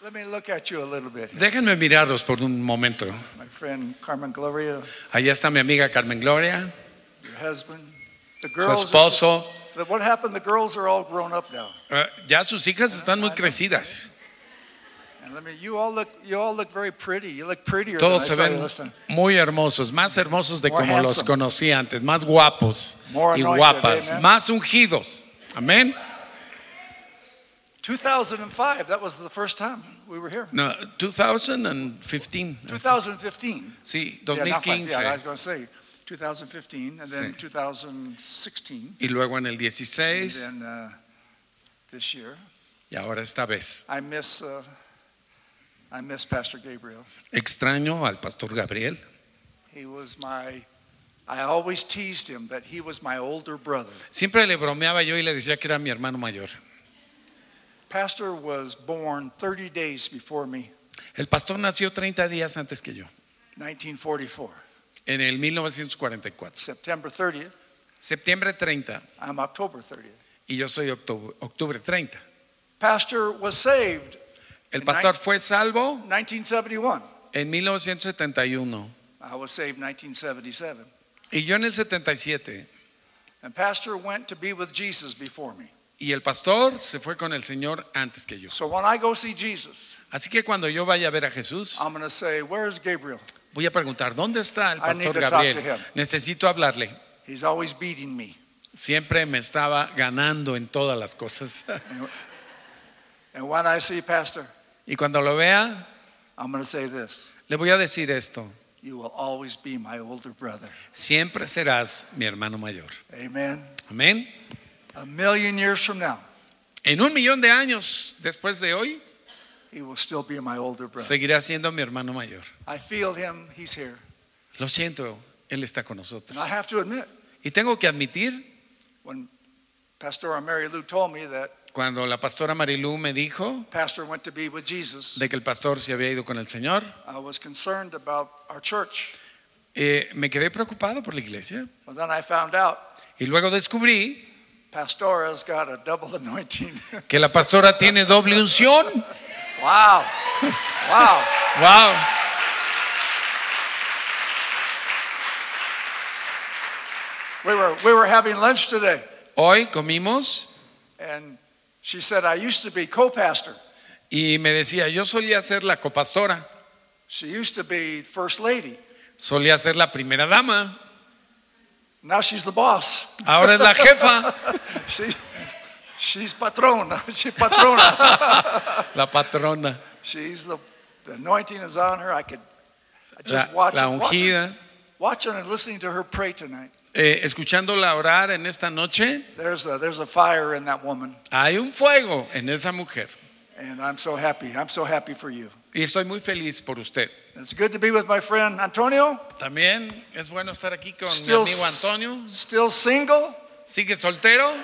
Let me look at you a little bit. Déjenme mirarlos por un momento. My friend Carmen Gloria, Allá está mi amiga Carmen Gloria, your husband, the su girls. esposo. What happened? The girls are all grown up now. Ya sus hijas están muy crecidas. And you all look very pretty. You look prettier Todos than se I saw you ven last time. muy hermosos, más hermosos de More como los handsome. conocí antes, más guapos More y anointed, guapas, amen. más ungidos. Amén. 2005. That was the first time we were here. No, 2015. 2015. Sí, Yeah, not five. 2015. Yeah, I was going to say 2015, and then Sí. 2016, Y luego en el and 16 then this year. y ahora esta vez. I miss Pastor Gabriel. Extraño al pastor Gabriel. I always teased him that he was my older brother. Siempre le bromeaba yo y le decía que era mi hermano mayor. Pastor was born 30 days before me, El pastor nació 30 días antes que yo, 1944. en el 1944. September 30th, Septiembre 30 I'm October 30th. y yo soy octubre 30. Pastor was saved El pastor fue salvo 1971. en 1971 I was saved 1977. y yo en el 77. And Pastor went to be with Jesus before me. Y el pastor se fue con el Señor antes que yo. So when I go see Jesus, Así que cuando yo vaya a ver a Jesús, I'm going to say, "Where's Gabriel? voy a preguntar, ¿dónde está el I need pastor to talk Gabriel? to him. Necesito hablarle. He's always beating me." Siempre me estaba ganando en todas las cosas. And when I see Pastor, Y cuando lo vea, I'm going to say this: le voy a decir esto: "You will always be my older brother." siempre serás mi hermano mayor. Amen. Amén. A million years from now, En 1,000,000 de años después de hoy, he will still be my older brother. seguirá siendo mi hermano mayor. I feel him, he's here. Lo siento, él está con nosotros. And I have to admit, Y tengo que admitir, when Pastor Mary Lou told me that cuando la pastora Marilú me dijo Pastor went to be with Jesus, de que el pastor se había ido con el Señor, I was concerned about our church. me quedé preocupado por la iglesia. But then I found out Y luego descubrí Pastor has got a double anointing. que la pastora tiene doble unción. Wow. Wow. ¡Wow! We were having lunch today, Hoy comimos and she said, "I used to be co-pastor." y me decía, yo solía ser la copastora, She used to be first lady. solía ser la primera dama, Now she's the boss. ahora es la jefa, She's patrona. She's patrona. la patrona, She's the anointing is on her. I just la ungida. watching and listening to her pray tonight. Escuchándola orar en esta noche, There's a fire in that woman, hay un fuego en esa mujer. and I'm so happy. I'm so happy for you. Y estoy muy feliz por usted. It's good to be with my friend Antonio. También es bueno estar aquí con mi Still, amigo Antonio. still single. ¿Sigue soltero?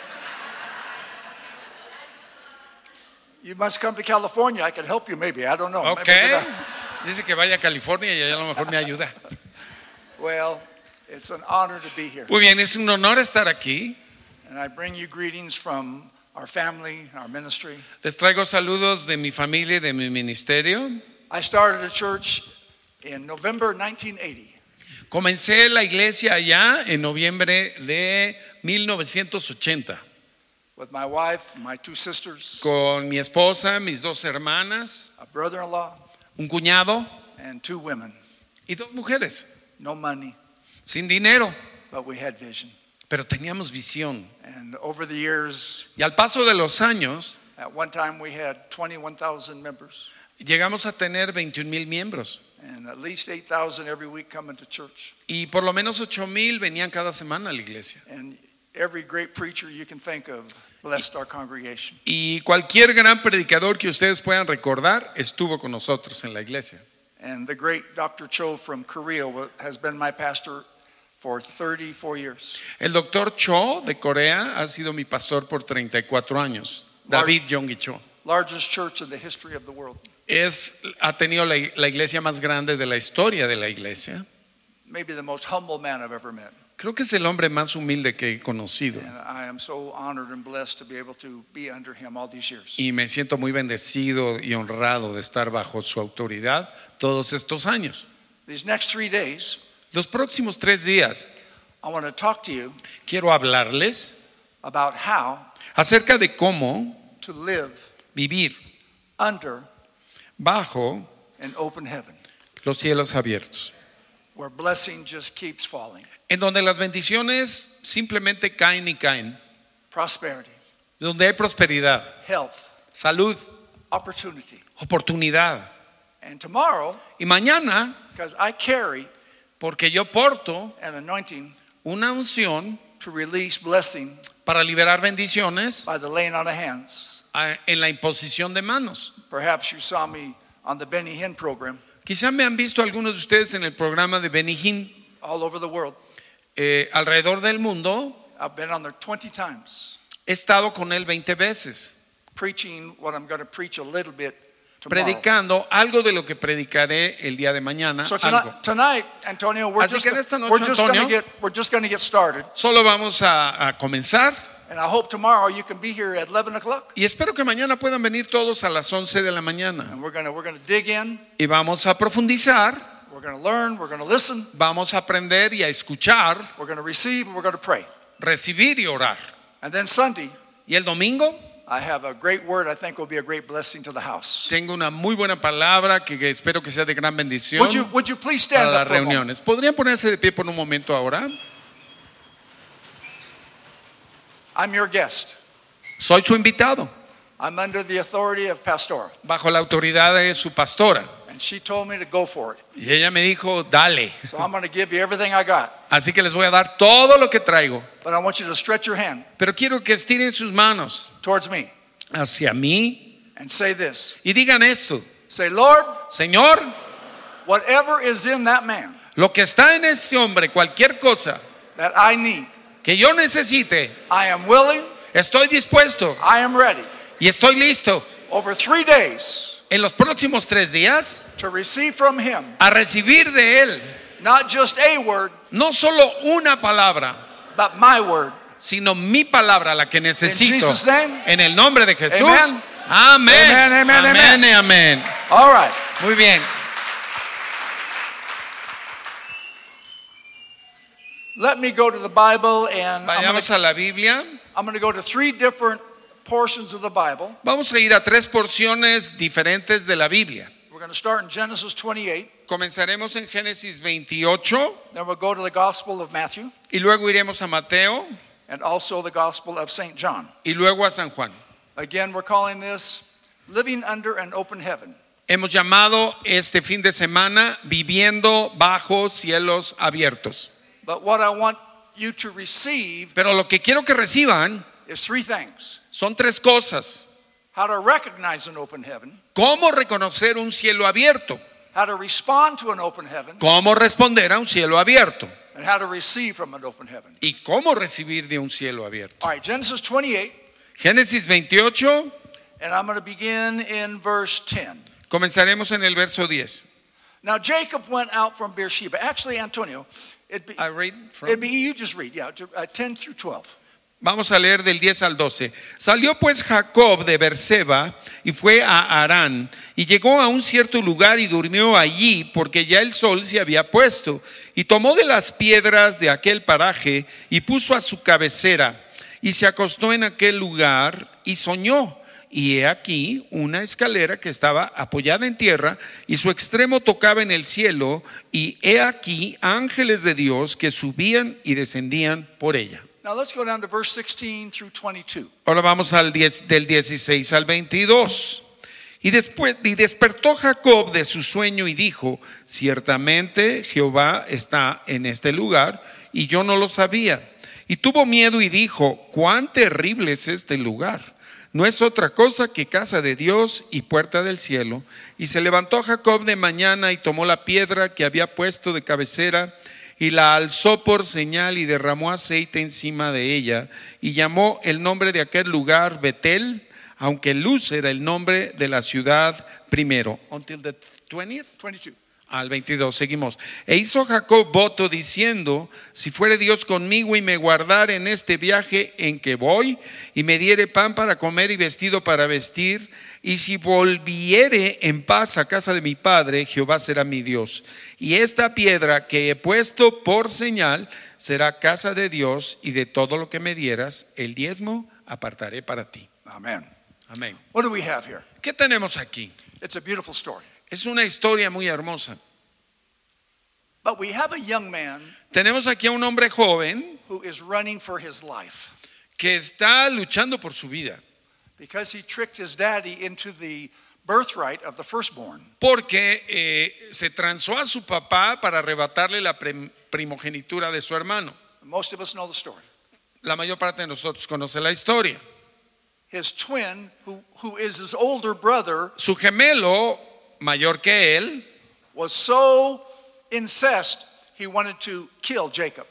You must come to California. I can help you maybe. I don't know. Ok. Maybe not. Dice que vaya a California y allá a lo mejor me ayuda. Well, it's an honor to be here. Muy bien, es un honor estar aquí. And I bring you greetings from our family, our ministry. Les traigo saludos de mi familia y de mi ministerio. I started a church in November 1980. Comencé la iglesia allá en noviembre de 1980 With my wife, my two sisters, con mi esposa, mis dos hermanas, a brother-in-law, un cuñado and two women. y dos mujeres, No money, sin dinero, but we had vision. pero teníamos visión. And over the years, Y al paso de los años, at one time we had 21,000 members, llegamos a tener 21,000 miembros and at least 8,000 every week coming to church. y por lo menos 8,000 venían cada semana a la iglesia. And every great preacher you can think of blessed our congregation. Y cualquier gran predicador que ustedes puedan recordar estuvo con nosotros en la iglesia. And the great Dr. Cho from Korea has been my pastor for 34 years. El doctor Cho de Corea ha sido mi pastor por 34 años. David Yonggi Cho. Largest church in the history of the world. Ha tenido la iglesia más grande de la historia de la iglesia. Maybe the most humble man I've ever met. Creo que es el hombre más humilde que he conocido. And I am so honored and blessed to be able to be under him all these years. Y me siento muy bendecido y honrado de estar bajo su autoridad todos estos años. These next 3 days, Los próximos 3 días I want to talk to you quiero hablarles about how acerca de cómo to live vivir under bajo an open heaven, los cielos abiertos, where blessing just keeps falling. en donde las bendiciones simplemente caen y caen, Prosperity, donde hay prosperidad, health, salud, opportunity. oportunidad. And tomorrow, Y mañana, because I carry porque yo porto an anointing una unción to release blessing para liberar bendiciones by the laying on of hands. en la imposición de manos. Perhaps you saw me on the Benny Hinn program Quizá me han visto algunos de ustedes en el programa de Benny Hinn, all over the world. alrededor del mundo. I've been on there 20 times, He estado con él 20 veces, preaching what I'm going to preach a little bit tomorrow. predicando algo de lo que predicaré el día de mañana. So Algo. tonight, Antonio, we're Así just, que en esta noche, we're just going to Antonio, get started. Solo vamos a comenzar And I hope tomorrow you can be here at 11 o'clock. y espero que mañana puedan venir todos a las 11 de la mañana. And we're going to dig in. Y vamos a profundizar, We're going to learn. We're going to listen. vamos a aprender y a escuchar, We're going to receive, and we're going to pray. recibir y orar. And then Sunday, Y el domingo I have a great word I think will be a great blessing to the house. tengo una muy buena palabra que espero que sea de gran bendición Would you please para stand las up for a moment? reuniones. ¿Podrían ponerse de pie por un momento ahora? I'm your guest. Soy su invitado, I'm under the authority of Pastora. bajo la autoridad de su pastora. And she told me to go for it. Y ella me dijo, dale. So I'm going to give you everything I got. Así que les voy a dar todo lo que traigo. But I want you to stretch your hand Pero quiero que estiren sus manos towards me hacia mí and say this. y digan esto: Say, Lord, Señor, whatever is in that man lo que está en ese hombre, cualquier cosa that I need, que yo necesite, I am willing, estoy dispuesto I am ready y estoy listo over 3 days en los próximos 3 días to receive from him a recibir de él not just a word, no solo una palabra, but my word. sino mi palabra, la que necesito. In Jesus' name. En el nombre de Jesús. Amen. Amén. Amen, amen, Amén amen. y amén. All right. Muy bien. Let me go to the Bible, and Vayamos a la Biblia. I'm going to go to 3 different portions of the Bible. Vamos a ir a 3 porciones diferentes de la Biblia. We're going to start in Genesis 28, Comenzaremos en Génesis 28 then we'll go to the Gospel of Matthew, y luego iremos a Mateo and also the Gospel of St. John. y luego a San Juan. Again, we're calling this Living Under an Open Heaven. Hemos llamado este fin de semana Viviendo bajo cielos abiertos. But what I want you to receive Pero lo que quiero que reciban is 3 things. son 3 cosas. How to recognize an open heaven, ¿Cómo reconocer un cielo abierto? how to respond to an open heaven, ¿Cómo responder a un cielo abierto? and how to receive from an open heaven. ¿Y cómo recibir de un cielo abierto? All right, Genesis 28, Génesis 28, and I'm going to begin in verse 10. comenzaremos en el verso 10. Now Jacob went out from Beersheba. Actually, Antonio, it'd I read be you just read, 10 through 12. Vamos a leer del 10 al 12. Salió pues Jacob de Berseba y fue a Harán y llegó a un cierto lugar y durmió allí porque ya el sol se había puesto, y tomó de las piedras de aquel paraje y puso a su cabecera y se acostó en aquel lugar y soñó. Y he aquí una escalera que estaba apoyada en tierra y su extremo tocaba en el cielo, y he aquí ángeles de Dios que subían y descendían por ella. Now let's go down to verse 16 through 22. Ahora vamos al 10, del 16 al 22. Y despertó Jacob de su sueño y dijo: ciertamente Jehová está en este lugar, y yo no lo sabía. Y tuvo miedo y dijo: cuán terrible es este lugar. No es otra cosa que casa de Dios y puerta del cielo. Y se levantó Jacob de mañana y tomó la piedra que había puesto de cabecera y la alzó por señal y derramó aceite encima de ella, y llamó el nombre de aquel lugar Betel, aunque Luz era el nombre de la ciudad primero. Until the 20th? 22. Al 22, seguimos. E hizo Jacob voto diciendo: si fuere Dios conmigo y me guardare en este viaje en que voy, y me diere pan para comer y vestido para vestir, y si volviere en paz a casa de mi padre, Jehová será mi Dios. Y esta piedra que he puesto por señal será casa de Dios, y de todo lo que me dieras, el diezmo apartaré para ti. Amen. Amén. What do we have here? ¿Qué tenemos aquí? It's a beautiful story. Es una historia muy hermosa. But we have a young man Tenemos aquí a un hombre joven who is running for his life que está luchando por su vida, because he tricked his daddy into the birthright of the firstborn. porque se transó a su papá para arrebatarle la primogenitura de su hermano. Most of us know the story. La mayor parte de nosotros conoce la historia. His twin, who is his older brother, Su gemelo, mayor que él, was so incensed he wanted to kill Jacob.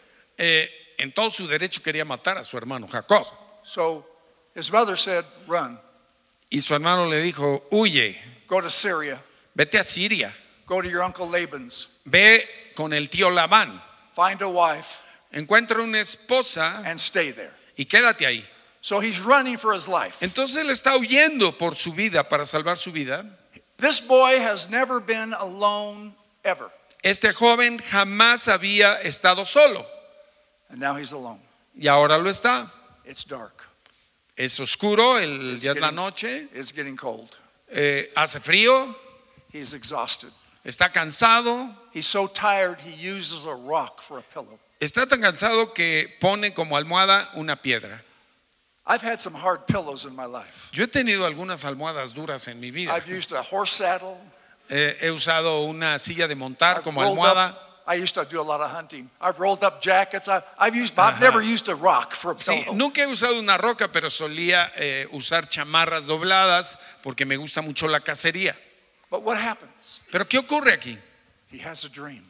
en todo su derecho quería matar a su hermano Jacob. So his mother said, run, Y su hermano le dijo: huye, go to Syria, vete a Siria, go to your uncle Laban's, ve con el tío Labán, find a wife, encuentra una esposa and stay there. y quédate ahí. So he's running for his life. Entonces él está huyendo por su vida, para salvar su vida. This boy has never been alone ever, Este joven jamás había estado solo and now he's alone. y ahora lo está. It's dark. Es oscuro, el It's día es la getting- noche, It's getting cold. hace frío, He's exhausted. está cansado, He's so tired he uses a rock for a pillow. está tan cansado que pone como almohada una piedra. I've had some hard pillows in my life. Yo he tenido algunas almohadas duras en mi vida. I've used a horse saddle. He usado una silla de montar I've como rolled almohada. up- I used to do a lot of hunting. I've rolled up jackets. I've never used a rock for a Sí, pillow. nunca he usado una roca, pero solía usar chamarras dobladas porque me gusta mucho la cacería. But what happens? Pero ¿qué ocurre aquí? He has a dream.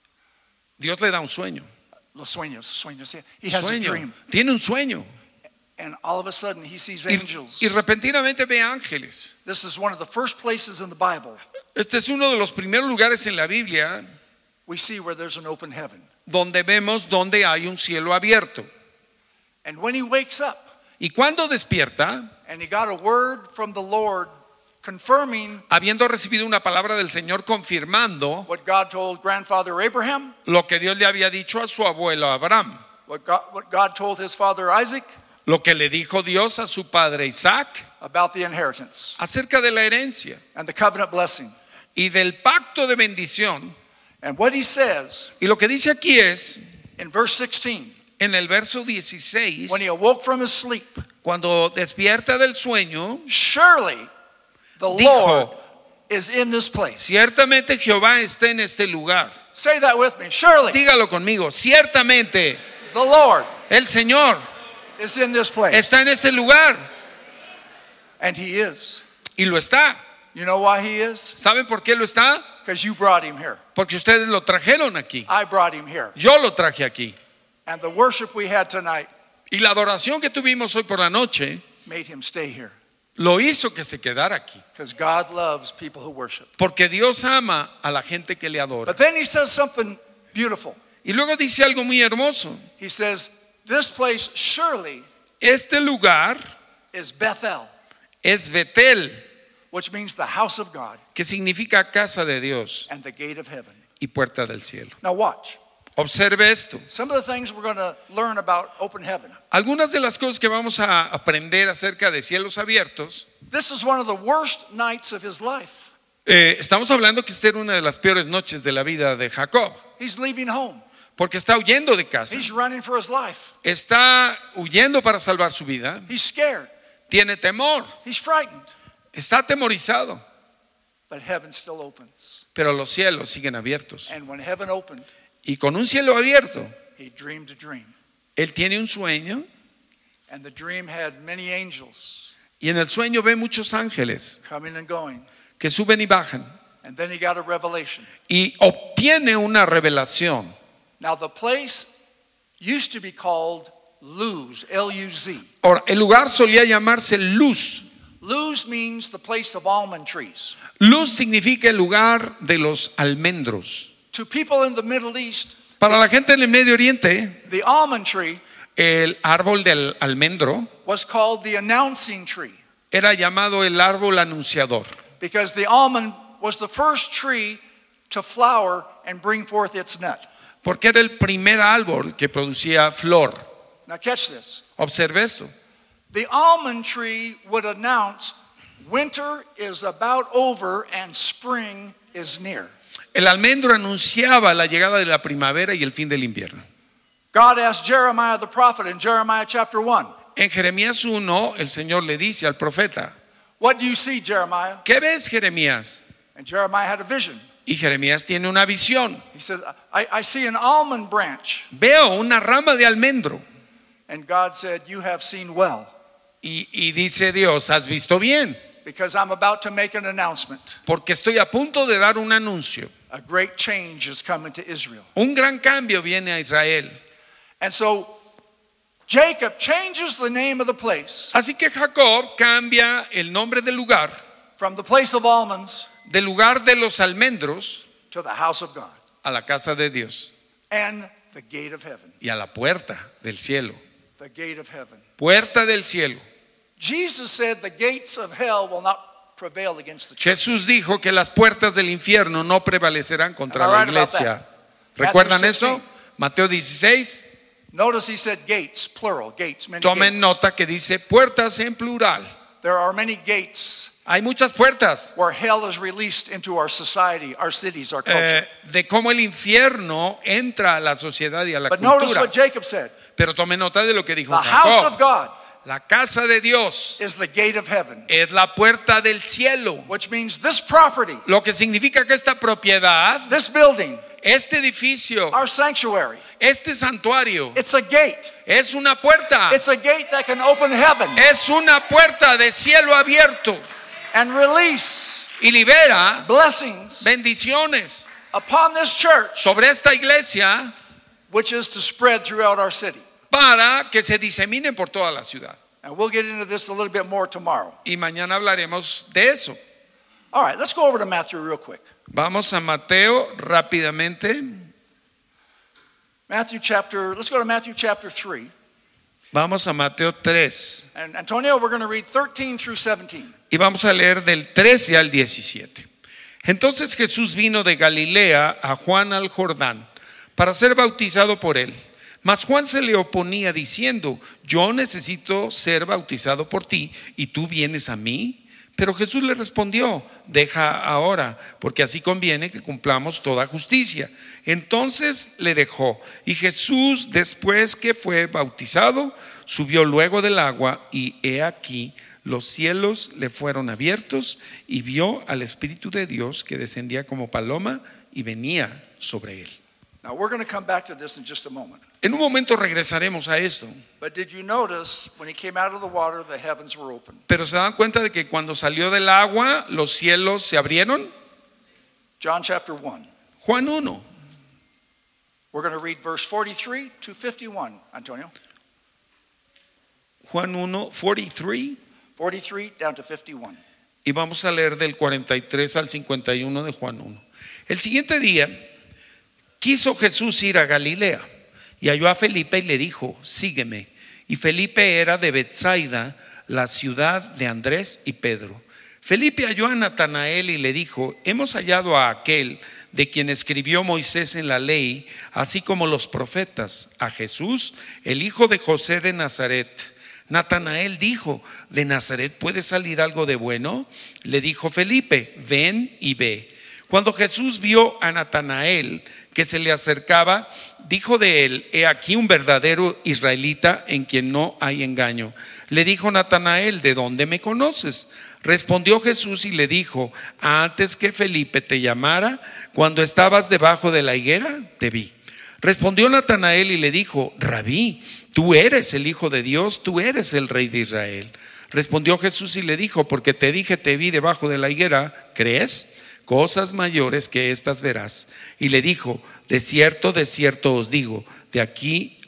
Dios le da un sueño. Los sueños. He has a Sueño. dream. Tiene un sueño. And all of a sudden he sees Y, angels. y repentinamente ve ángeles. This is one of the first places in the Bible Este es uno de los primeros lugares en la Biblia we see where there's an open heaven. donde vemos donde hay un cielo abierto. And when he wakes up Y cuando despierta, and he got a word from the Lord confirming habiendo recibido una palabra del Señor confirmando what God told grandfather Abraham, lo que Dios le había dicho a su abuelo Abraham, what God told his father Isaac lo que le dijo Dios a su padre Isaac about the inheritance acerca de la herencia and the covenant blessing. y del pacto de bendición. And what he says Y lo que dice aquí es, in verse 16, en el verso 16, when he awoke from his sleep, cuando despierta del sueño, surely the Dijo, Lord is in this place. ciertamente Jehová está en este lugar. Say that with me. Surely Dígalo conmigo, ciertamente the Lord el Señor is in this place. está en este lugar. And he is. Y lo está. You know why he is? ¿Saben por qué lo está? Because you brought him here. Porque ustedes lo trajeron aquí. I brought him here. Yo lo traje aquí. And the worship we had tonight Y la adoración que tuvimos hoy por la noche made him stay here. lo hizo que se quedara aquí. Because God loves people who worship. Porque Dios ama a la gente que le adora. But then he says something beautiful. Y luego dice algo muy hermoso. He says, this place surely Este lugar is Bethel, es Betel, which means the house of God que significa casa de Dios and the gate of heaven. y puerta del cielo. Now watch. Observe esto. Some of the things we're going to learn about open heaven. Algunas de las cosas que vamos a aprender acerca de cielos abiertos, This is one of the worst nights of his life. estamos hablando que esta era una de las peores noches de la vida de Jacob, He's leaving home. porque está huyendo de casa, He's running for his life. está huyendo para salvar su vida, He's scared. tiene temor, He's frightened. está atemorizado, But heaven still opens. pero los cielos siguen abiertos. And when heaven opened, Y con un cielo abierto, he dreamed a dream. él tiene un sueño And the dream had many angels y en el sueño ve muchos ángeles coming and going. que suben y bajan And then he got a revelation. y obtiene una revelación. Now the place used to be called Luz, L-U-Z. Ahora, el lugar solía llamarse Luz. Luz means the place of almond trees. Luz significa el lugar de los almendros. To people in the Middle East, Para la gente en el Medio Oriente, the almond tree el árbol del almendro was called the announcing tree era llamado el árbol anunciador, because the almond was the first tree to flower and bring forth its nut. porque era el primer árbol que producía flor. Now catch this. Observe esto. The almond tree would announce winter is about over and spring is near. El almendro anunciaba la llegada de la primavera y el fin del invierno. God asked Jeremiah the prophet in Jeremiah chapter 1, En Jeremías 1, el Señor le dice al profeta, what do you see, Jeremiah? ¿qué ves, Jeremías? And Jeremiah had a vision. Y Jeremías tiene una visión. He said, I see an almond branch. Veo una rama de almendro. And God said, you have seen well, Y dice Dios, ¿has visto bien? because I'm about to make an announcement. Porque estoy a punto de dar un anuncio. A great change is coming to Israel. Un gran cambio viene a Israel. And so Jacob changes the name of the place Así que Jacob cambia el nombre del lugar, from the place of almonds del lugar de los almendros, to the house of God a la casa de Dios and the gate of heaven. y a la puerta del cielo. The gate of heaven. Puerta del cielo. Jesus said the gates of hell will not prevail against the church. Jesús dijo que las puertas del infierno no prevalecerán contra Am I la right about iglesia. that? ¿Recuerdan Matthew eso? 16. Mateo 16. Notice he said gates, plural, gates, many Tomen gates. nota que dice puertas en plural. There are many gates Hay muchas puertas where hell is released into our society, our cities, our culture. de cómo el infierno entra a la sociedad y a la But notice cultura. what Jacob said. Pero tomen nota de lo que dijo The house of Jacob. God La casa de Dios is the gate of heaven, es la puerta del cielo. which means this property, Lo que significa que esta propiedad, this building, este edificio, our sanctuary, este santuario, it's a gate. es una puerta. It's a gate that can open heaven Es una puerta de cielo abierto and release y libera blessings bendiciones upon this church, sobre esta iglesia which is to spread throughout our city. para que se diseminen por toda la ciudad. And we'll get into this a little bit more tomorrow. Y mañana hablaremos de eso. All right, let's go over to Matthew real quick. Vamos a Mateo rápidamente. Let's go to Matthew chapter 3. Vamos a Mateo 3. And Antonio, we're going to read 13 through 17. Y vamos a leer del 13 al 17. Entonces Jesús vino de Galilea a Juan al Jordán para ser bautizado por él. Mas Juan se le oponía diciendo, yo necesito ser bautizado por ti y tú vienes a mí. Pero Jesús le respondió, deja ahora, porque así conviene que cumplamos toda justicia. Entonces le dejó, y Jesús, después que fue bautizado, subió luego del agua, y he aquí, los cielos le fueron abiertos, y vio al Espíritu de Dios que descendía como paloma y venía sobre él. Now, we're going to come back to this in just a moment. En un momento regresaremos a esto, But did you notice when he came out of the water, the heavens were open? pero ¿se dan cuenta de que cuando salió del agua, los cielos se abrieron? John chapter 1. Juan 1. We're going to read verse 43 to 51, Antonio. Juan 1, 43. 43 down to 51. Y vamos a leer del 43 al 51 de Juan 1. El siguiente día quiso Jesús ir a Galilea y halló a Felipe y le dijo, sígueme. Y Felipe era de Betsaida, la ciudad de Andrés y Pedro. Felipe halló a Natanael y le dijo, hemos hallado a aquel de quien escribió Moisés en la ley, así como los profetas, a Jesús, el hijo de José de Nazaret. Natanael dijo, ¿de Nazaret puede salir algo de bueno? Le dijo Felipe, ven y ve. Cuando Jesús vio a Natanael que se le acercaba, dijo de él, he aquí un verdadero israelita en quien no hay engaño. Le dijo Natanael, ¿de dónde me conoces? Respondió Jesús y le dijo, antes que Felipe te llamara, cuando estabas debajo de la higuera, te vi. Respondió Natanael y le dijo, Rabí, tú eres el Hijo de Dios, tú eres el Rey de Israel. Respondió Jesús y le dijo, porque te dije, te vi debajo de la higuera, ¿crees? Cosas mayores que estas verás. Y le dijo, de cierto os digo, de aquí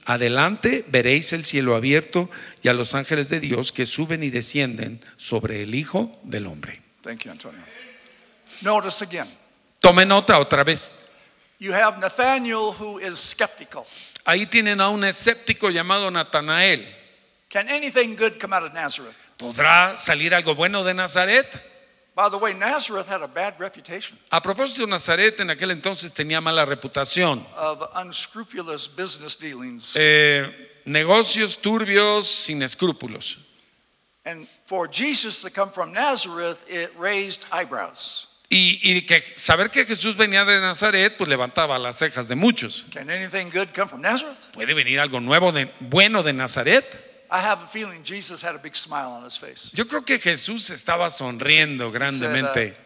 Adelante veréis el cielo abierto y a los ángeles de Dios que suben y descienden sobre el Hijo del Hombre. Thank you, Antonio. Notice again. Tome nota otra vez. You have Nathanael who is skeptical. Ahí tienen a un escéptico llamado Natanael. Can anything good come out of Nazareth? ¿Podrá salir algo bueno de Nazaret? By the way, Nazareth had a bad reputation A propósito, Nazaret en aquel entonces tenía mala reputación. of unscrupulous business dealings. Negocios turbios, sin escrúpulos. And for Jesus to come from Nazareth, it raised eyebrows. Y que saber que Jesús venía de Nazaret, pues levantaba las cejas de muchos. Can anything good come from Nazareth? ¿Puede venir algo nuevo bueno de Nazaret? I have a feeling Jesus had a big smile on his face. Yo creo que Jesús estaba sonriendo grandemente.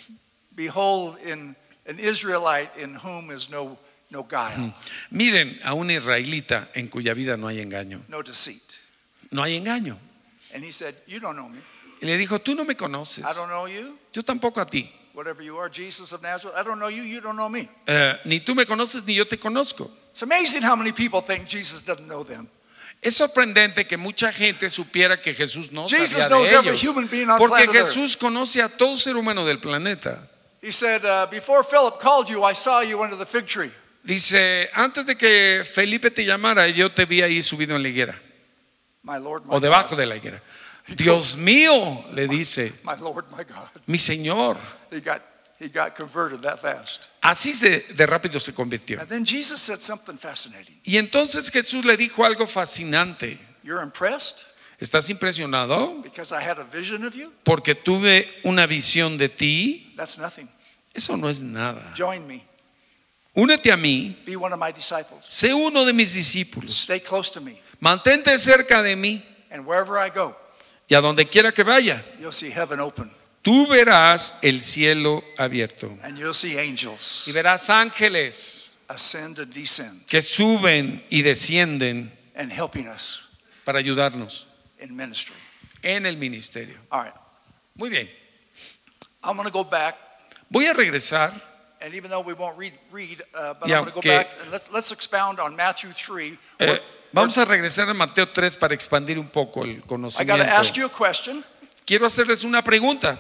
Behold, in an Israelite in whom is no guile, Miren a un israelita en cuya vida no hay engaño. no deceit. No hay engaño. And he said, you don't know me. Y le dijo, tú no me conoces. I don't know you. Yo tampoco a ti. Whatever you are, Jesus of Nazareth, I don't know you. You don't know me. Ni tú me conoces ni yo te conozco. It's amazing how many people think Jesus doesn't know them. Es sorprendente que mucha gente supiera que Jesús no Jesus sabía knows de every ellos. human being on Porque planet Earth. Jesús conoce a todo ser humano del planeta. He said, before Philip called you, I saw you under the fig tree. Dice, antes de que Felipe te llamara, yo te vi ahí subido en la higuera. My Lord, my O debajo God. de la higuera. Dios mío, le dice, My Lord, my God. mi Señor. He got converted that fast. Así de rápido se convirtió. And then Jesus said something fascinating. Y entonces Jesús le dijo algo fascinante. You're impressed ¿Estás impresionado? because I had a vision of you? Porque tuve una visión de ti. That's nothing. Eso no es nada. Join me. Únete a mí. Be one of my disciples. Sé uno de mis discípulos. Stay close to me. Mantente cerca de mí. And wherever I go, Y a donde quiera que vaya, you'll see heaven open. tú verás el cielo abierto. And you'll see angels Y verás ángeles ascend and descend que suben y descienden and helping us para ayudarnos in ministry. en el ministerio. All right. Muy bien. I'm going to go back. Voy a regresar. And even though we won't read, but Y I'm going to go aunque- back and let's expound on Matthew 3. Vamos a regresar a Mateo 3 para expandir un poco el I got conocimiento. to ask you a question. Quiero hacerles una pregunta.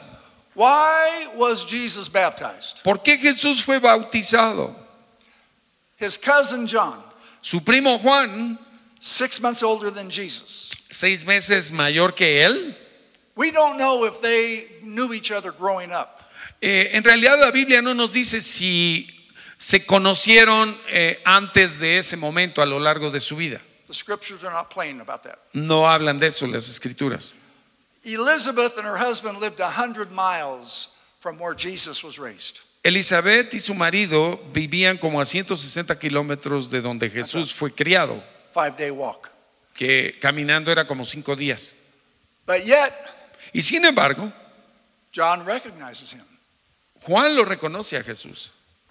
Why was Jesus baptized? ¿Por qué Jesús fue bautizado? His cousin John, Su primo Juan, 6 months older than Jesus. 6 meses mayor que él. We don't know if they knew each other growing up. En realidad la Biblia no nos dice si se conocieron antes de ese momento a lo largo de su vida. The scriptures are not plain about that. No hablan de eso las escrituras. Elizabeth and her husband lived 100 miles from where Jesus was raised. Elizabeth y su marido vivían como a 160 kilómetros de donde Jesús fue criado, 5-day walk. que caminando era como 5 días. But yet, Y sin embargo, John recognizes him. Juan lo reconoce a Jesús.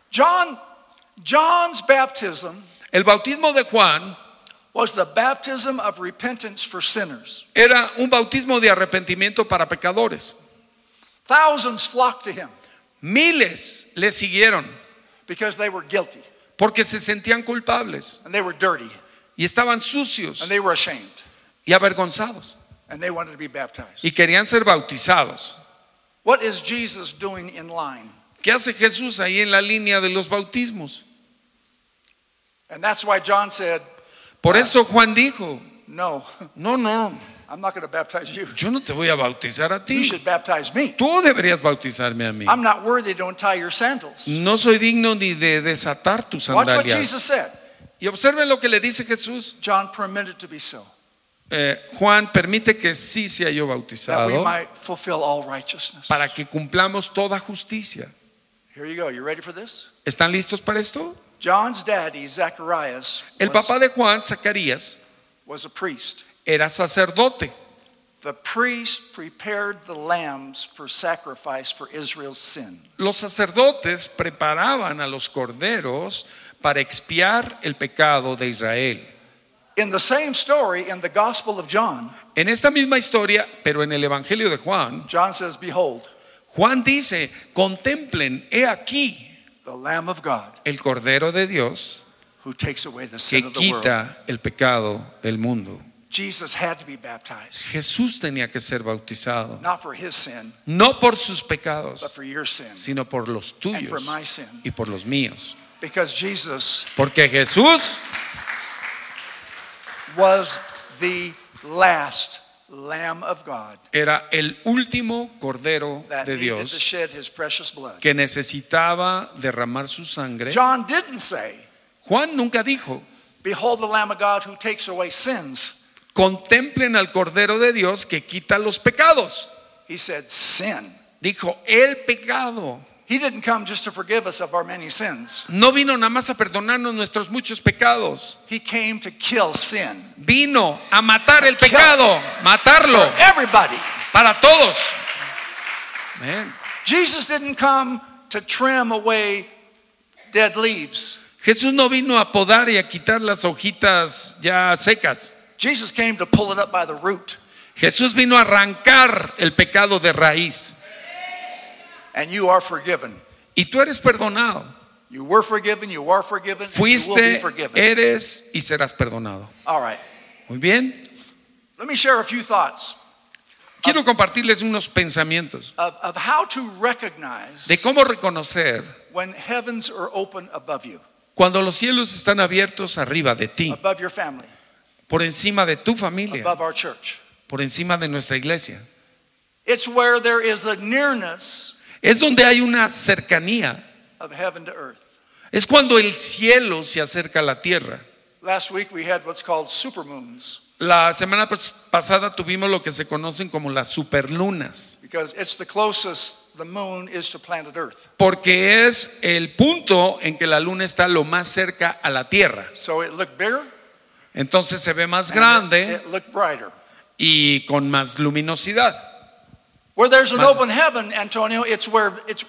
John's baptism El bautismo de Juan was the baptism of repentance for sinners. era un bautismo de arrepentimiento para pecadores. Thousands flocked to him Miles le siguieron because they were guilty porque se sentían culpables and they were dirty y estaban sucios and they were ashamed y avergonzados and they wanted to be baptized. y querían ser bautizados. What is Jesus doing in line? ¿Qué hace Jesús ahí en la línea de los bautismos? And that's why John said, Por eso Juan dijo, no, no, I'm not going to baptize you. yo no te voy a bautizar a You ti. should baptize me. Tú deberías bautizarme a mí. I'm not worthy to untie your sandals. No soy digno ni de desatar tus Watch what Jesus sandalias. said. Y observen lo que le dice Jesús. John permitted to be so, Juan permite que sí sea yo that we bautizado might fulfill all righteousness. para que cumplamos toda justicia. Here you go. You ready for this? ¿Están listos para esto? John's daddy, Zacharias, El papá de Juan, Zacarías, was a priest. era sacerdote. The priest prepared the lambs for sacrifice for Israel's sin. Los sacerdotes preparaban a los corderos para expiar el pecado de Israel. In the same story, in the Gospel of John, En esta misma historia, pero en el Evangelio de Juan, John says, behold, Juan dice, contemplen, he aquí the Lamb of God el Cordero de Dios who takes away the que sin of the world. quita el pecado del mundo. Jesus had to be baptized, Jesús tenía que ser bautizado, not for his sin, no por sus pecados, but for your sin sino por los and for tuyos my sin. y por los míos. Because Jesus Porque Jesús was the last Lamb of God era el último Cordero that de needed to Dios shed his precious blood. que necesitaba derramar su sangre. John didn't say, Juan nunca dijo, behold the Lamb of God who takes away sins. contemplen al Cordero de Dios que quita los pecados. He said sin. Dijo, el pecado. He didn't come just to forgive us of our many sins. No vino nada más a perdonarnos nuestros muchos pecados. He came to kill sin. Vino a matar el pecado, matarlo For everybody. para todos. Amén. Jesus didn't come to trim away dead leaves. Jesús no vino a podar y a quitar las hojitas ya secas. Jesus came to pull it up by the root. Jesús vino a arrancar el pecado de raíz. And you are forgiven. Y tú eres perdonado. You were forgiven, you are forgiven, and you will be Fuiste, forgiven. eres y serás perdonado. All right. Muy bien. Let me share a few thoughts Quiero compartirles unos pensamientos of how to recognize de cómo reconocer when heavens are open above you, cuando los cielos están abiertos arriba de ti, above your family, por encima de tu familia, above our church. por encima de nuestra iglesia. It's where there is a nearness Es donde hay una cercanía. of heaven to earth. Es cuando el cielo se acerca a la tierra. Last week we had what's called supermoons La semana pasada tuvimos lo que se conocen como las superlunas, because it's the closest the moon is to planet Earth. porque es el punto en que la luna está lo más cerca a la tierra. So it looked bigger, Entonces se ve más and grande it looked brighter. y con más luminosidad. Where there's an Más- open heaven, Antonio, it's where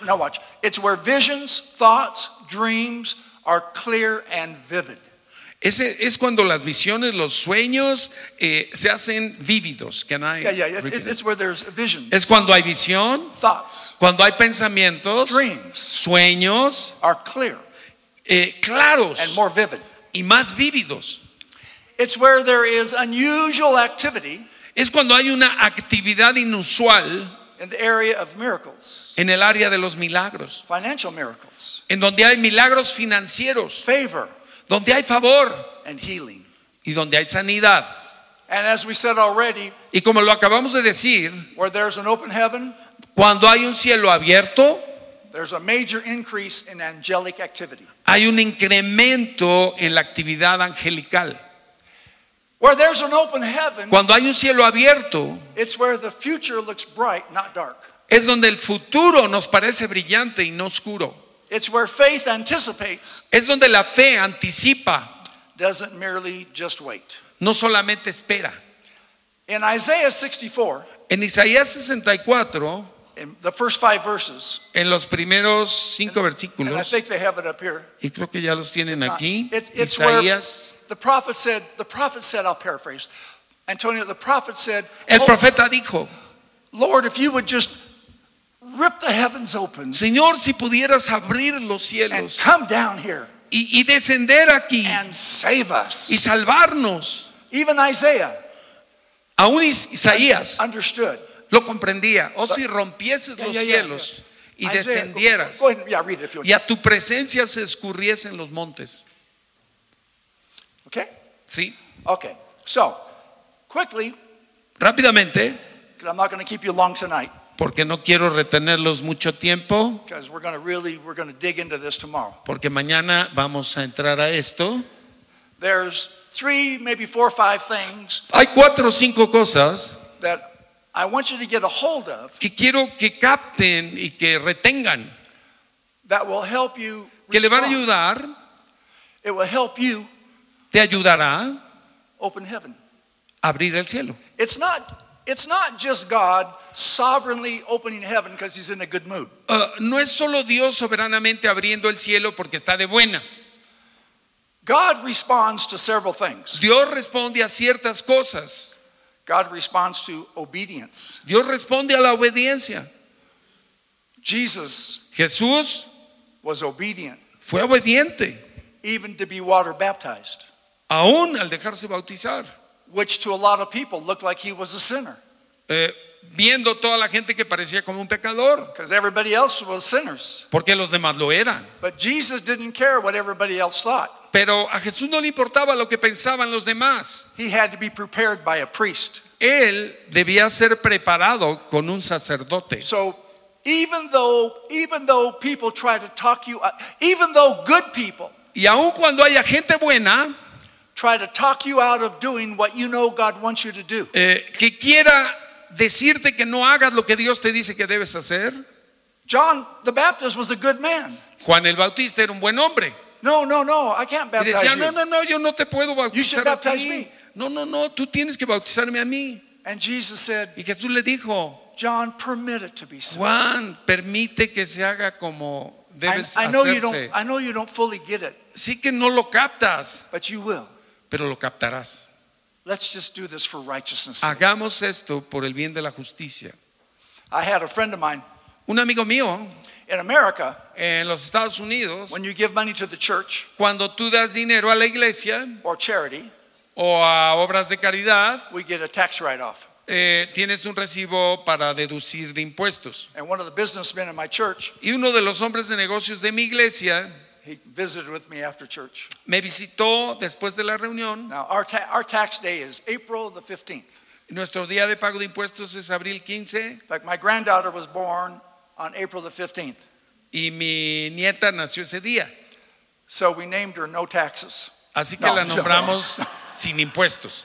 visions, thoughts, dreams are clear and vivid. Ese es cuando las visiones, los sueños se hacen vívidos. It's where there's visions, Es cuando hay visión, thoughts, cuando hay pensamientos, dreams sueños are clear claros and more vivid. y más vívidos. It's where there is unusual activity Es cuando hay una actividad inusual in the area of miracles, en el área de los milagros, financial miracles, en donde hay milagros financieros, favor, donde hay favor and healing. y donde hay sanidad. And as we said already, Y como lo acabamos de decir, where there's an open heaven, cuando hay un cielo abierto, there's a major increase in angelic activity. hay un incremento en la actividad angelical. Where there's an open heaven, Cuando hay un cielo abierto, it's where the future looks bright, not dark. es donde el futuro nos parece brillante y no oscuro. It's where faith anticipates, Es donde la fe anticipa, doesn't merely just wait. no solamente espera. In Isaiah 64, En Isaías 64, in the first 5 verses, en los primeros 5 and I versículos, think they have it up here. y creo que ya los tienen aquí, It's where Isaías, the prophet said, I'll paraphrase. Antonio, the prophet said, el "Oh, profeta dijo, Lord, if you would just rip the heavens open Señor, si pudieras abrir los and cielos come down here y descender aquí and save us. y salvarnos. Even Isaiah Aún Isaías understood. lo comprendía. O si rompieses los cielos y Isaiah, descendieras Go ahead, read it if you want. y a tu presencia se escurriesen los montes. Okay? Sí. Okay. So, quickly, Rápidamente, because I'm not going to keep you long tonight, porque no quiero retenerlos mucho tiempo, because we're going to dig into this tomorrow. porque mañana vamos a entrar a esto. There's 3, maybe 4 or 5 things Hay 4 o 5 cosas that I want you to get a hold of que quiero que capten y que retengan, that will help you que le van a respond. ayudar, It will help you te ayudará open heaven. a abrir el cielo. It's not just God sovereignly opening heaven because he's in a good mood. No es solo Dios soberanamente abriendo el cielo porque está de buenas. God responds to several things. Dios responde a ciertas cosas. God responds to obedience. Dios responde a la obediencia. Jesus Jesús was obedient fue obediente. even to be water baptized, aún al dejarse bautizar, which to a lot of people looked like he was a sinner viendo toda la gente que parecía como un pecador, because everybody else was sinners. porque los demás lo eran. But Jesus didn't care what everybody else thought. Pero a Jesús no le importaba lo que pensaban los demás. He had to be prepared by a priest. Él debía ser preparado con un sacerdote. So even though people try to talk you, even though good people Y aun cuando haya gente buena try to talk you out of doing what you know God wants you to do, que quiera decirte que no hagas lo que Dios te dice que debes hacer, John the Baptist was a good man. Juan el Bautista era un buen hombre. No, I can't Y baptize decía, you. no, yo no te puedo You should bautizar a baptize ti. me. No, tú tienes que bautizarme a mí. And Jesus said, Y Jesús le dijo, John, permit it to be so. Juan, permite que se haga como debes I know hacerse. you don't fully get it, Sí que no lo captas, but you will. pero lo captarás. Let's just do this for righteousness' sake. Hagamos esto por el bien de la justicia. I had a friend of mine Un amigo mío in America. en los Estados Unidos, When you give money to the church cuando tú das dinero a la iglesia or charity, o a obras de caridad, we get a tax write-off. tienes un recibo para deducir de impuestos. And one of the businessmen in my church, Y uno de los hombres de negocios de mi iglesia he visited with me after church. me visitó después de la reunión. Now, our tax day is April the 15th. Nuestro día de pago de impuestos es abril 15 In fact, my granddaughter was born on April the 15th. y mi nieta nació ese día. So we named her No Taxes. Así que No, la nombramos sin impuestos.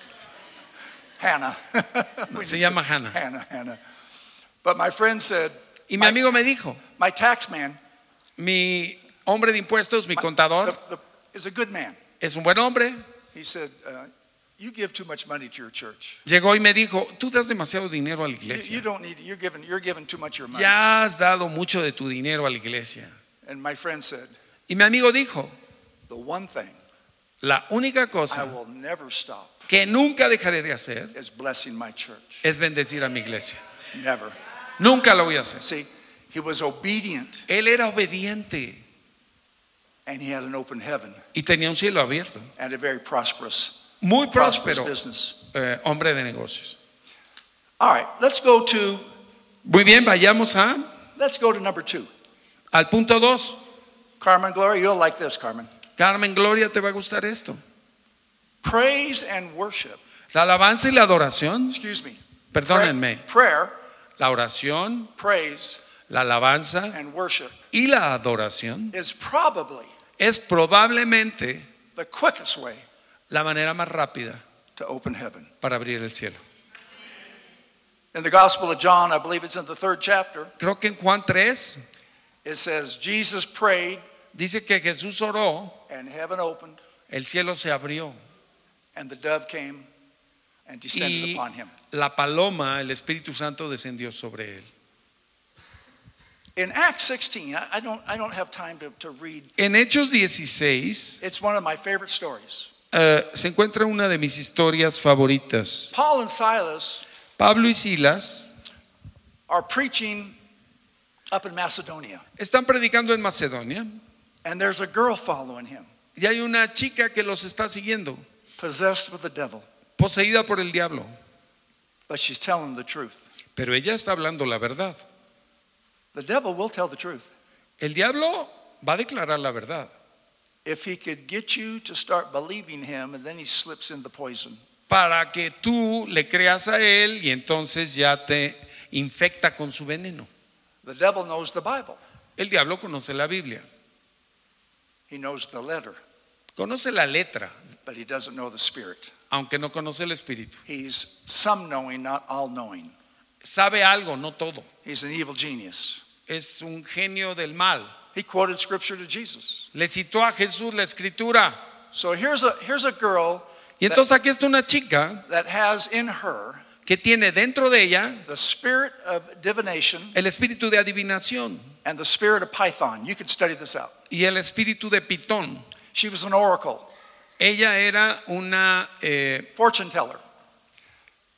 Hannah. Se llama Hannah. Hannah. But my friend said, Y mi amigo me dijo, my tax man mi hombre de impuestos, mi contador, is a good man. es un buen hombre. He said, you give too much money to your church. Llegó y me dijo, tú das demasiado dinero a la You iglesia. don't need it. You're giving too much of your money. Ya has dado mucho de tu dinero a la iglesia. And my friend said, Y mi amigo dijo, the one thing la única I cosa will never stop que nunca dejaré de hacer is blessing my church. es bendecir a mi iglesia. Never. Nunca lo voy a hacer. See, he was obedient Él era obediente and he had an open heaven y tenía un cielo abierto. and a very prosperous Muy próspero business. hombre de negocios. All right, let's go to Muy bien, vayamos number 2. al punto 2. Carmen Gloria, you'll like this, Carmen. Carmen Gloria, ¿te va a gustar esto? Praise and worship. La alabanza y la adoración, Excuse me. perdónenme, Prayer, la oración, praise, la alabanza and worship y la adoración is probably es probablemente the quickest way la manera más rápida to open heaven. para abrir el cielo. In the Gospel of John, I believe it's in the 3rd chapter, Creo que en Juan 3 it says, Jesus prayed dice que Jesús oró, and heaven opened el cielo se abrió and the dove came and descended y upon him. la paloma, el Espíritu Santo, descendió sobre él. In Acts 16, I don't have time to read. En Hechos 16 It's one of my favorite stories. se encuentra una de mis historias favoritas. Paul and Silas Pablo y Silas are preaching up in Macedonia, están predicando en Macedonia and there's a girl following him, y hay una chica que los está siguiendo, possessed with the devil, poseída por el diablo, but she's telling the truth. pero ella está hablando la verdad. The devil will tell the truth. El diablo va a declarar la verdad. If he could get you to start believing him, and then he slips in the poison. Para que tú le creas a él y entonces ya te infecta con su veneno. The devil knows the Bible. El diablo conoce la Biblia, He knows the letter, conoce la letra, but he doesn't know the spirit. aunque no conoce el espíritu. He's some knowing, not all knowing. Sabe algo, no todo. He's an evil genius. Es un genio del mal. He quoted scripture to Jesus. Le citó a Jesús la escritura. So here's a girl Y entonces aquí está una chica that has in her que tiene dentro de ella the spirit of divination el espíritu de adivinación and the spirit of Python. You could study this out. y el espíritu de Pitón. She was an oracle, Ella era una fortune teller.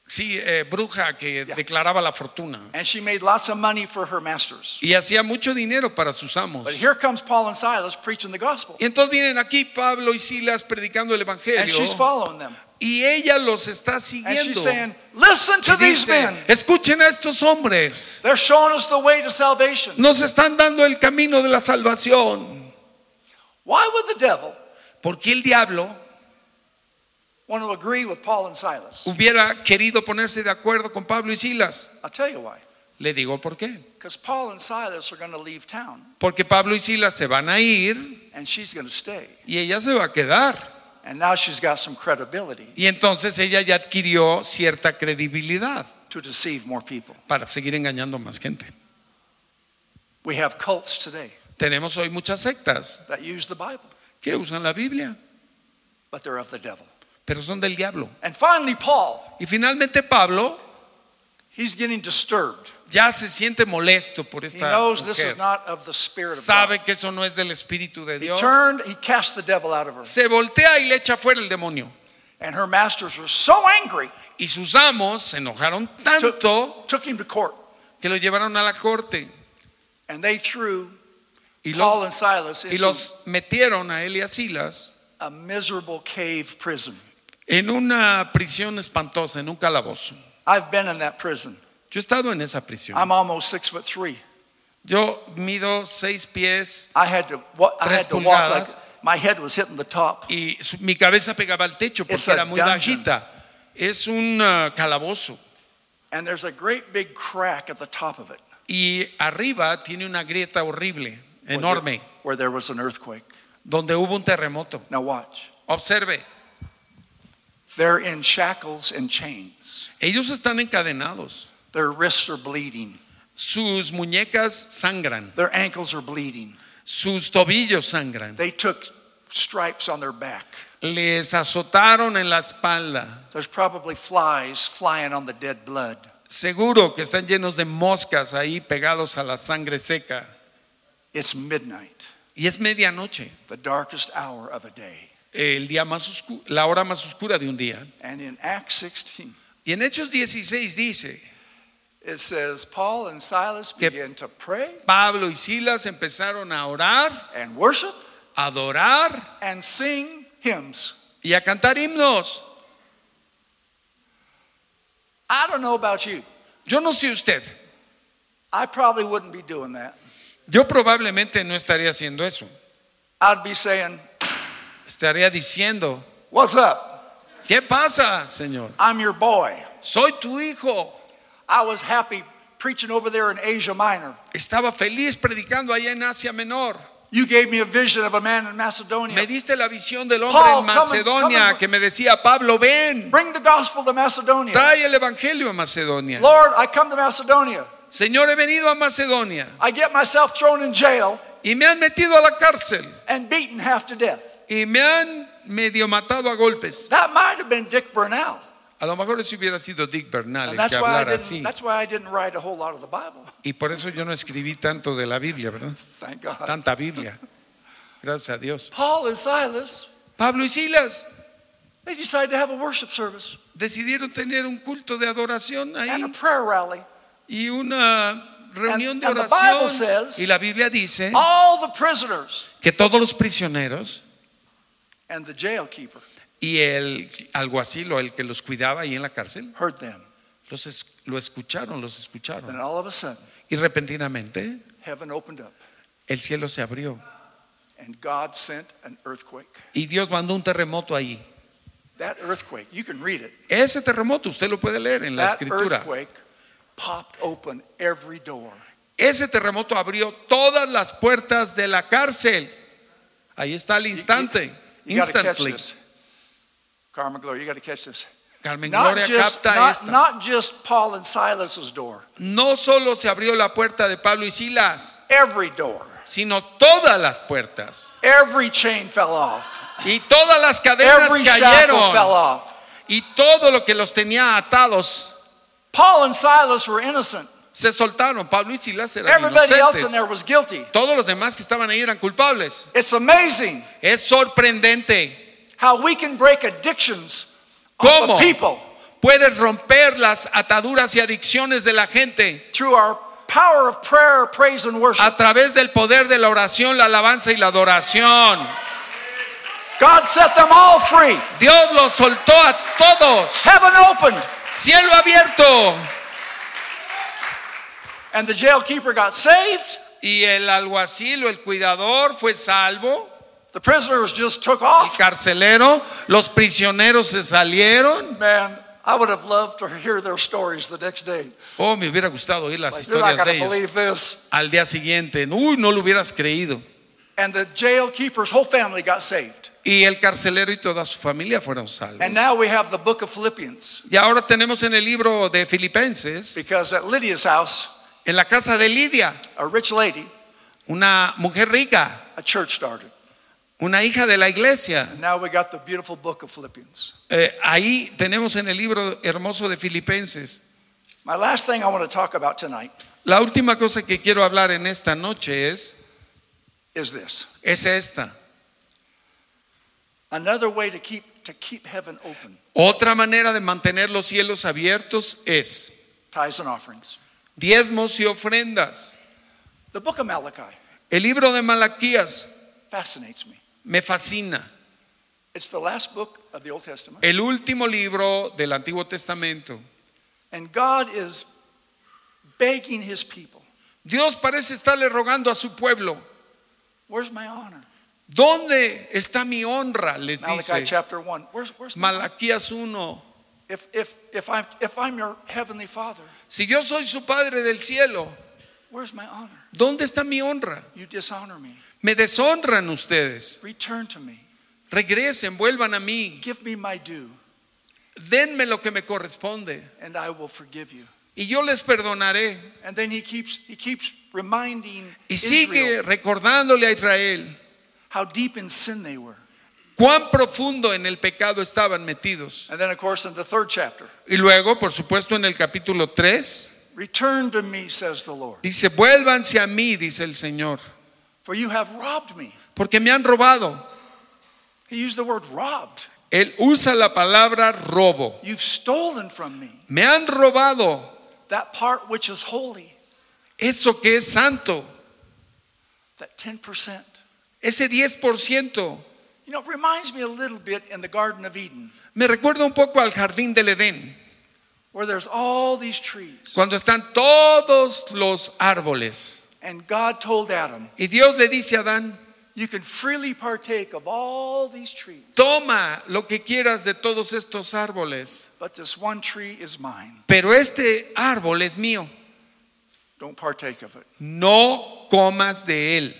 Sí, bruja que Yeah. declaraba la fortuna. And she made lots of money for her masters. Y hacía mucho dinero para sus amos. But here comes Paul and Silas preaching the gospel. Y entonces vienen aquí Pablo y Silas predicando el And evangelio. she's following them. Y ella los está And siguiendo. she's saying, listen to Y these dice, men. escuchen a estos hombres. They're showing us the way to salvation. Nos están dando el camino de la salvación. Why would the devil ¿Por qué el diablo want to agree with Paul and Silas? hubiera querido ponerse de acuerdo con Pablo y Silas? I'll tell you why. Le digo por qué. Because Paul and Silas are going to leave town, Porque Pablo y Silas se van a ir and she's going to stay. y ella se va a quedar. And now she's got some credibility Y entonces ella ya adquirió cierta credibilidad to deceive more people. para seguir engañando a más gente. We have cults today Tenemos hoy muchas sectas that use the Bible, que usan la Biblia, but they're of the devil. pero son del diablo. And finally, Paul, Y finalmente Pablo he's getting disturbed. ya se siente molesto por He esta knows this is mujer. not of the Spirit of God. Sabe que eso no es del Espíritu de He Dios. turned, he cast the devil out of her. Se voltea y le echa fuera el demonio. And her masters were so angry, Y sus amos se enojaron tanto took him to court. que lo llevaron a la corte And they threw y Paul los, and Silas y into los metieron a él y a Silas a miserable cave prison. en una prisión espantosa, en un calabozo. I've been in that prison. Yo he estado en esa prisión. I'm almost 6'3". Yo mido 6 pies I had to walk like pulgadas. my head was hitting the top. y mi cabeza pegaba al techo It's porque a era muy dungeon. bajita. Es un calabozo. And there's a great big crack at the top of it Y arriba tiene una grieta horrible, enorme, where there was an earthquake. donde hubo un terremoto. Now watch. Observe, They're in shackles and chains. ellos están encadenados. Their wrists are bleeding. Sus muñecas sangran, Their ankles are bleeding. sus tobillos sangran. They took stripes on their back. Les azotaron en la espalda. There's probably flies flying on the dead blood. Seguro que están llenos de moscas ahí pegados a la sangre seca. It's midnight, Y es medianoche, the darkest hour of a day. el día más la hora más oscura de un día. And in Acts 16, Y en Hechos 16 dice, it says, Paul and Silas Que- began to pray Pablo y Silas empezaron a orar, and worship a adorar and sing hymns. y a cantar himnos. I don't know about you. Yo no sé usted, I probably wouldn't be doing that. yo probablemente no estaría haciendo eso. I'd be saying, Estaría diciendo, what's up? ¿qué pasa, Señor? I'm your boy. Soy tu hijo. I was happy preaching over there in Asia Minor. Estaba feliz predicando allá en Asia Menor. You gave me a vision of a man in Macedonia. Me diste la visión del hombre Paul, en Macedonia come and- que me decía, Pablo, ven, Bring the gospel to Macedonia. trae el evangelio a Macedonia. Lord, I come to Macedonia. Señor, he venido a Macedonia I get myself thrown in jail y me han metido a la cárcel and beaten half to death. y me han medio matado a golpes. That might have been Dick Bernal. A lo mejor si hubiera sido Dick Bernal And el que hablara así. that's why I didn't write a whole lot of the Bible. Y por eso yo no escribí tanto de la Biblia, ¿verdad? Thank God. Tanta Biblia. Gracias a Dios. Paul and Silas, Pablo y Silas they decided to have a worship service decidieron tener un culto de adoración and a ahí prayer rally. y una reunión de And the Bible oración. says- Y la Biblia dice All the prisoners que todos los prisioneros and the jail keeper y el alguacil o el que los cuidaba ahí en la cárcel heard them. los escucharon. Then all of a sudden, Y repentinamente heaven opened up el cielo se abrió and God sent an earthquake. y Dios mandó un terremoto ahí. That earthquake, you can read it. Ese terremoto usted lo puede leer en la That escritura. earthquake popped open every door. Ese terremoto abrió todas las puertas de la cárcel. Ahí está al instante. You got to catch Instantly. this. Carmen Gloria, you got to catch this. Carmen Not Gloria just, capta esta. not just Paul and Silas's door, No solo se abrió la puerta de Pablo y Silas, every door, sino todas las puertas. every chain fell off, Y todas las cadenas every shackle fell cayeron. off. Y todo lo que los tenía atados Paul and Silas were innocent. se soltaron. Pablo y Silas eran Everybody else in inocentes. there was guilty. Todos los demás que estaban ahí eran culpables. It's amazing Es sorprendente how we can break addictions off ¿Cómo? of people Puedes romper las ataduras y adicciones de la gente through our power of prayer, praise, and worship. a través del poder de la oración, la alabanza y la adoración. God set them all free. Dios los soltó a todos. Heaven opened. Cielo abierto. And the jailkeeper got saved. Y el alguacil o el cuidador fue salvo. The prisoners just took El off. carcelero, los prisioneros se salieron. Man, I would have loved to hear their stories the next day. Oh, me hubiera gustado oír las Like, you're not historias de going to ellos. believe this. Al día siguiente, uy, no lo hubieras creído. And the jailkeeper's whole family got saved. Y el carcelero y toda su familia fueron salvos. And now we have the book of Philippians. Y ahora tenemos en el libro de Filipenses, Because at Lydia's house, en la casa de Lidia, a rich lady, una mujer rica, a church started. una hija de la iglesia. And now we got the beautiful book of Philippians. Ahí tenemos en el libro hermoso de Filipenses. My last thing I want to talk about tonight La última cosa que quiero hablar en esta noche es is esta. another way to keep heaven open. Otra manera de mantener los cielos abiertos es Tithes and offerings. diezmos y ofrendas. The book of Malachi El libro de Malaquías fascinates me. me fascina. It's the last book of the Old Testament. El último libro del Antiguo Testamento. And God is begging his people, Dios parece estarle rogando a su pueblo. where's my honor? ¿Dónde está mi honra? Les Malachi dice chapter 1. Where's my honor? Malaquías 1. If I'm your heavenly father, Si yo soy su Padre del cielo, where's my honor? ¿dónde está mi honra? You dishonor me. Me deshonran ustedes. Return to me. Regresen, vuelvan a mí. Give me my due, Denme lo que me corresponde and I will forgive you. y yo les perdonaré. And then he keeps reminding Y sigue Israel recordándole a Israel how deep in sin they were. cuán profundo en el pecado estaban metidos. And then, of course, in the 3rd chapter, Y luego, por supuesto, en el capítulo 3, return to me, says the Lord, dice, vuélvanse a mí, dice el Señor, for you have robbed me. porque me han robado. He used the word robbed. Él usa la palabra robo. You've stolen from me Me han robado that part which is holy, eso que es santo, that 10%. ese 10%. You know, it reminds me a little bit in the Garden of Eden, Me recuerda un poco al jardín del Edén, where there's all these trees. cuando están todos los árboles. And God told Adam, Y Dios le dice a Adán, you can freely partake of all these trees, toma lo que quieras de todos estos árboles, but this one tree is mine. pero este árbol es mío. Don't partake of it. No comas de él.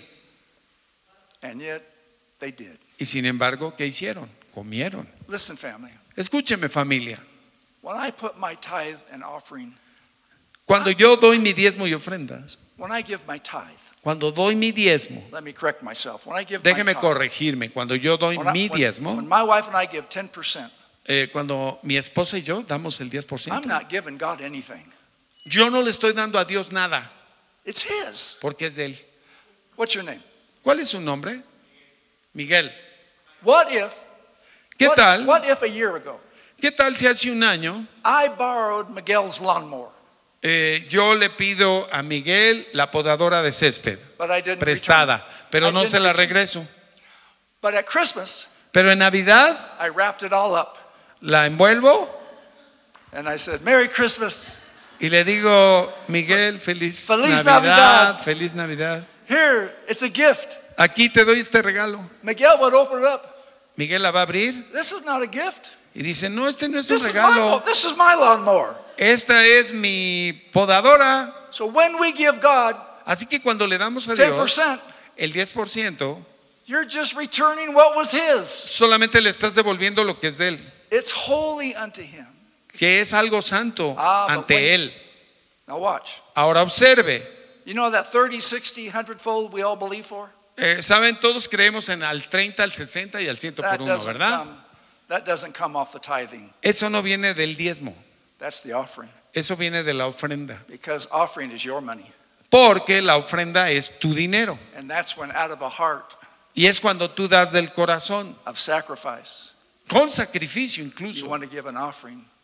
And yet, they did. Y sin embargo, ¿qué hicieron? Comieron. Listen, family, Escúcheme, familia. when I put my tithe and offering, Cuando yo doy mi diezmo y ofrendas, when I give my tithe, cuando doy mi diezmo, let me correct myself. When I give my déjeme tithe, corregirme, cuando yo doy mi when diezmo, my wife and I give 10%, cuando mi esposa y yo damos el I'm 10%, not giving God anything. yo no le estoy dando a Dios nada, It's His. porque es de él. What's your name? ¿Cuál es su nombre? Miguel. What if? ¿Qué tal? What if a year ago ¿Qué tal si hace un año I borrowed Miguel's lawnmower, yo le pido a Miguel la podadora de césped but I didn't prestada, return. pero I no didn't se la return. regreso? But at Christmas, Pero en Navidad I wrapped it all up la envuelvo and I said, "Merry Christmas. y le digo, Miguel, feliz Feliz Navidad, Navidad. feliz Navidad. Here, it's a gift." Aquí te doy este regalo. Miguel would open it up. Miguel la va a abrir This is not a gift. y dice, no, este no es un This regalo. is my lawnmower. Esta es mi podadora. So when we give God Así que cuando le damos a Dios 10%, el 10%, you're just returning what was His. solamente le estás devolviendo lo que es de él, It's holy unto Him. que es algo santo But ante when- él. Now watch. Ahora observe. You know that 30, 60, 100-fold we all believe for? Saben, todos creemos en al 30, al 60 y al 100 por uno, ¿verdad? That doesn't come off the tithing. Eso no viene del diezmo, That's the offering. eso viene de la ofrenda. Because offering is your money. Porque la ofrenda es tu dinero. And that's when out of a heart Y es cuando tú das del corazón, of sacrifice, con sacrificio you incluso. want to give an offering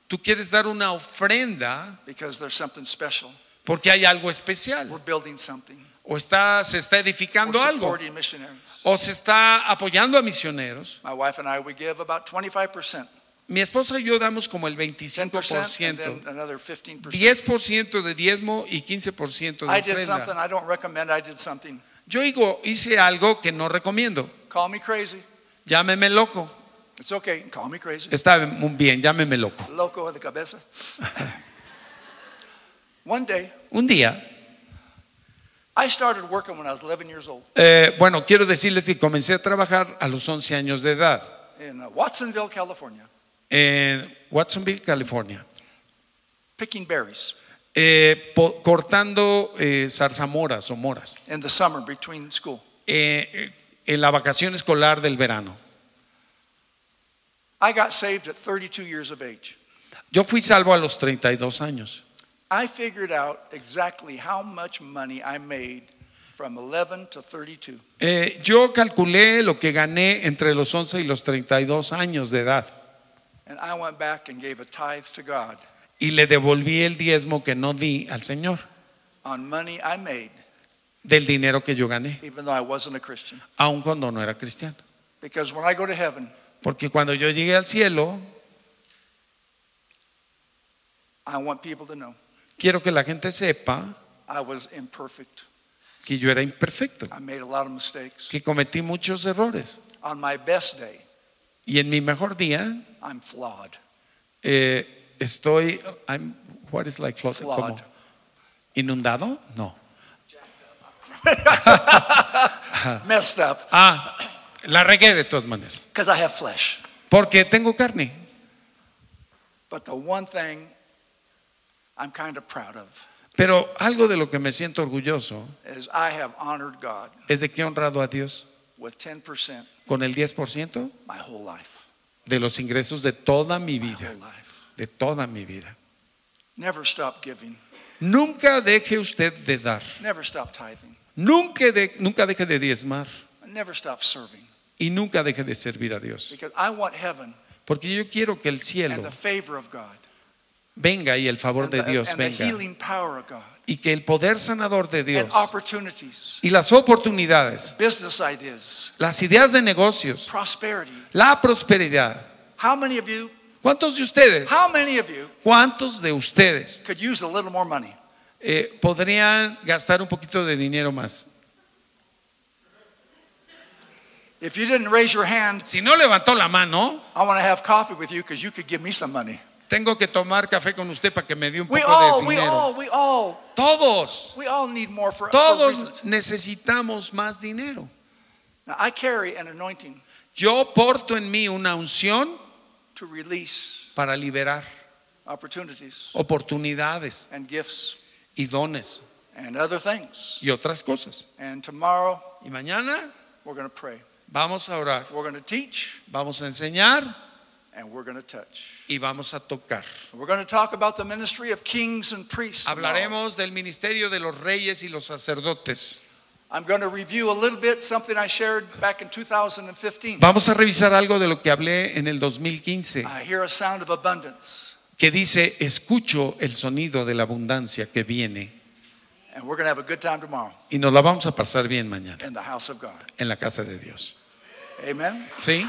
Tú quieres dar una ofrenda because there's something special. porque hay algo especial. We're building something. O se está edificando We're algo. supporting missionaries. O se está apoyando a misioneros. My wife and I, we give about 25%. Mi esposa y yo damos como el 10% and 25%. then another 15%. 10% de diezmo y 15% de I did something ofrenda. I don't recommend. I did something. Yo hice algo que no recomiendo. Call me crazy. Llámeme loco. It's okay. Call me crazy. Está muy bien, llámeme loco. Loco de cabeza. One day, Un día, I started working when I was 11 years old bueno, quiero decirles que comencé a trabajar a los 11 años de edad in Watsonville, California, en Watsonville, California, picking berries cortando zarzamoras o moras in the summer between school. en la vacación escolar del verano. I got saved at 32 years of age. Yo fui salvo a los 32 años. I figured out exactly how much money I made from 11 to 32. Yo calculé lo que gané entre los 11 y los 32 años de edad And I went back and gave a tithe to God y le devolví el diezmo que no di al Señor on money I made, del dinero que yo gané, even though I wasn't a Christian. aun cuando no era cristiano. Because when I go to heaven, Porque cuando yo llegué al cielo, I want people to know quiero que la gente sepa I was imperfect. que yo era imperfecto, I made a lot of mistakes. que cometí muchos errores. On my best day, Y en mi mejor día I'm flawed. what is like flood? Flawed. ¿Cómo? ¿Inundado? No. Messed up La regué de todas maneras. because I have flesh. Porque tengo carne. But the one thing I'm kind of proud of Pero algo de lo que me siento orgulloso is I have honored God es de que he honrado a Dios with 10% con el 10% my whole life. de los ingresos de toda mi My vida. whole life. De toda mi vida. Never stop giving. Nunca deje usted de dar. Never stop tithing. Nunca deje de diezmar. Never stop serving. Y nunca deje de servir a Dios. Because I want heaven Porque yo quiero que el and cielo the favor of God venga y el favor and de the, Dios and the venga. healing power of God Y que el poder sanador de and Dios opportunities, y las oportunidades, business ideas, las ideas de negocios, prosperity. la prosperidad. How many of you, ¿Cuántos de ustedes? ¿Cuántos de ustedes could use a little more money? podrían gastar un poquito de dinero más? If you didn't raise your hand, Si no levantó la mano, I want to have coffee with you because you could give me some money. tengo que tomar café con usted para que me dé un We poco all, de we dinero. all, we all, Todos, we all need more for todos reasons. necesitamos más dinero. Now, I carry an anointing Yo porto en mí una unción to release para liberar opportunities oportunidades and gifts y dones and other things. y otras cosas. And tomorrow, Y mañana we're going to pray. vamos a orar, We're going to teach vamos a enseñar and we're going to touch. y vamos a tocar. We're going to talk about the ministry of kings and priests. tomorrow. Hablaremos del ministerio de los reyes y los sacerdotes. I'm going to review a little bit something I shared back in 2015. Vamos a revisar algo de lo que hablé en el 2015, I hear a sound of abundance, que dice, escucho el sonido de la abundancia que viene. and we're going to have a good time tomorrow Y nos la vamos a pasar bien mañana in the house of God. en la casa de Dios. Amen. ¿Sí?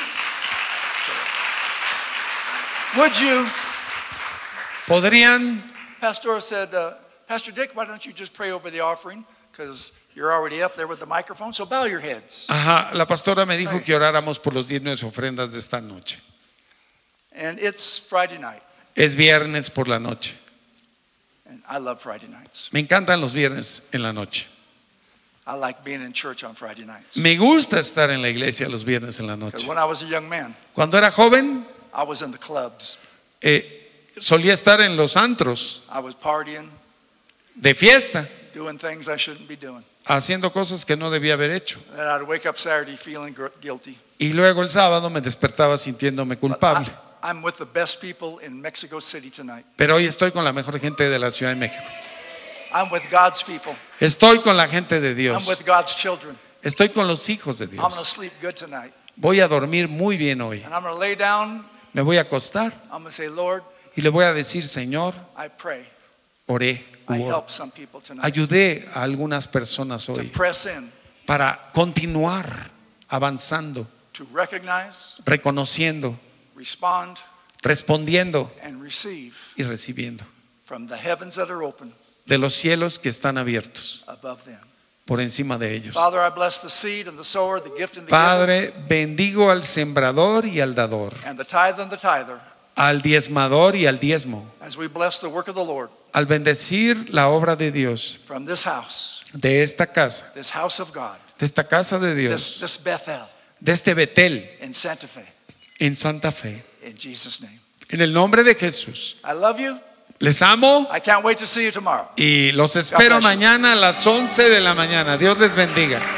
Would you? ¿Podrían? Pastor said, Pastor Dick, why don't you just pray over the offering? Because you're already up there with the microphone. So bow your heads. Ajá, la pastora me dijo que oráramos por los diezmos y ofrendas de esta noche. And it's Friday night, Es viernes por la noche. and I love Friday nights. Me encantan los viernes en la noche. I like being in church on Friday nights. Me gusta estar en la iglesia los viernes en la Because noche. when I was a young man, Cuando era joven, I was in the clubs. solía estar en los antros I was partying, de fiesta, doing things I shouldn't be doing. haciendo cosas que no debía haber hecho. And then I'd wake up Saturday feeling guilty. Y luego el sábado me despertaba sintiéndome But culpable. I'm with the best people in Mexico City tonight. Pero hoy estoy con la mejor gente de la Ciudad de México. I'm with God's people. Estoy con la gente de Dios. I'm with God's children. Estoy con los hijos de I'm going to Dios. sleep good tonight. Voy a dormir muy bien hoy. And I'm going to lay down. Me voy a acostar I'm going to say, Lord, Y le voy a decir, Señor, I pray oré, I oro. help some people tonight Ayudé a algunas personas to hoy press in, para continuar avanzando, to recognize, reconociendo, respond, respondiendo and receive y recibiendo from the heavens that are open de los cielos que están abiertos above them. por encima de ellos. Father, I bless the seed and the sower, the gift and the giver, Padre, bendigo al sembrador y al dador, and the tithe and the tither, al diezmador y al diezmo, as we bless the work of the Lord al bendecir la obra de Dios, from this house de esta casa of God, de esta casa de Dios, this Bethel de este Betel in Santa Fe, en Santa Fe. in Jesus' name. En el nombre de Jesús, I love you. les amo I can't wait to see you tomorrow. y los espero God bless you. mañana a las 11 de la mañana. Dios les bendiga.